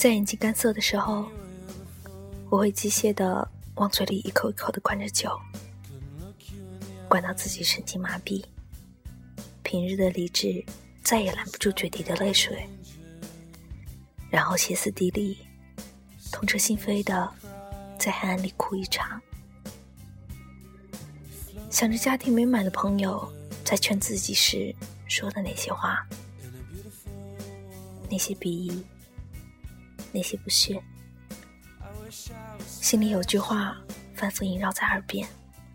在眼睛干涩的时候，我会机械地往嘴里一口一口地灌着酒，灌到自己神经麻痹，平日的理智再也拦不住决堤的泪水，然后歇斯底里，痛彻心扉地在黑暗里哭一场，想着家庭美满的朋友在劝自己时说的那些话，那些鄙夷，那些不屑，心里有句话反复萦绕在耳边，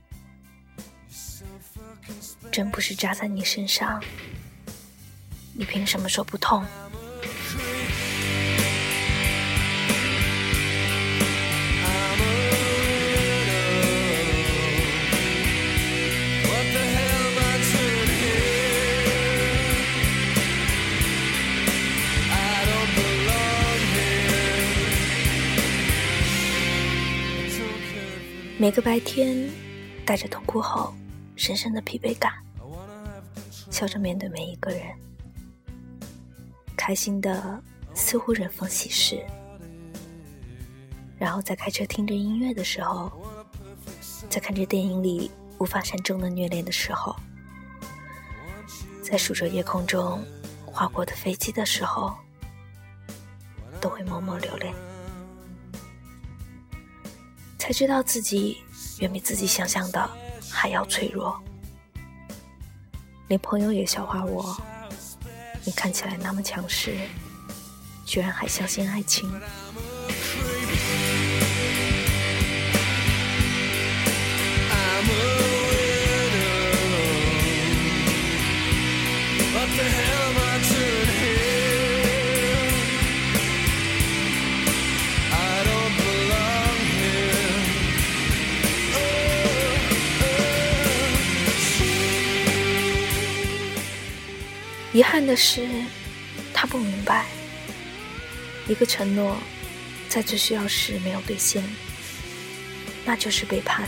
针不是扎在你身上，你凭什么说不痛？每个白天带着痛哭后深深的疲惫感，笑着面对每一个人，开心的似乎人逢喜事，然后在开车听着音乐的时候，在看着电影里无法善终的虐恋的时候，在数着夜空中划过的飞机的时候，都会默默流泪，才知道自己远比自己想象的还要脆弱。连朋友也笑话我，你看起来那么强势，居然还相信爱情。遗憾的是，他不明白，一个承诺在最需要时没有兑现，那就是背叛。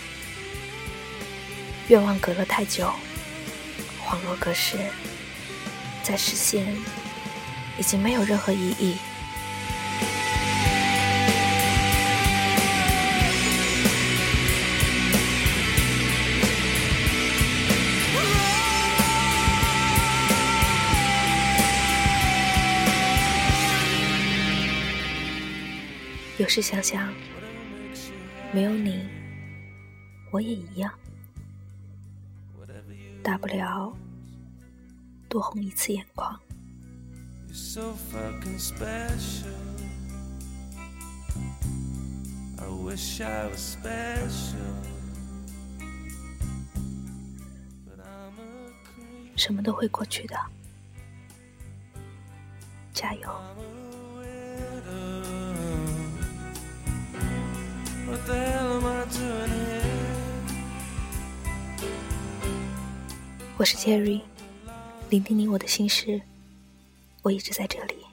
愿望隔了太久，恍若隔世，再实现已经没有任何意义。有时想想，没有你，我也一样，大不了多红一次眼眶。什么都会过去的，加油。我是 Jerry， 聆听你我的心事，我一直在这里。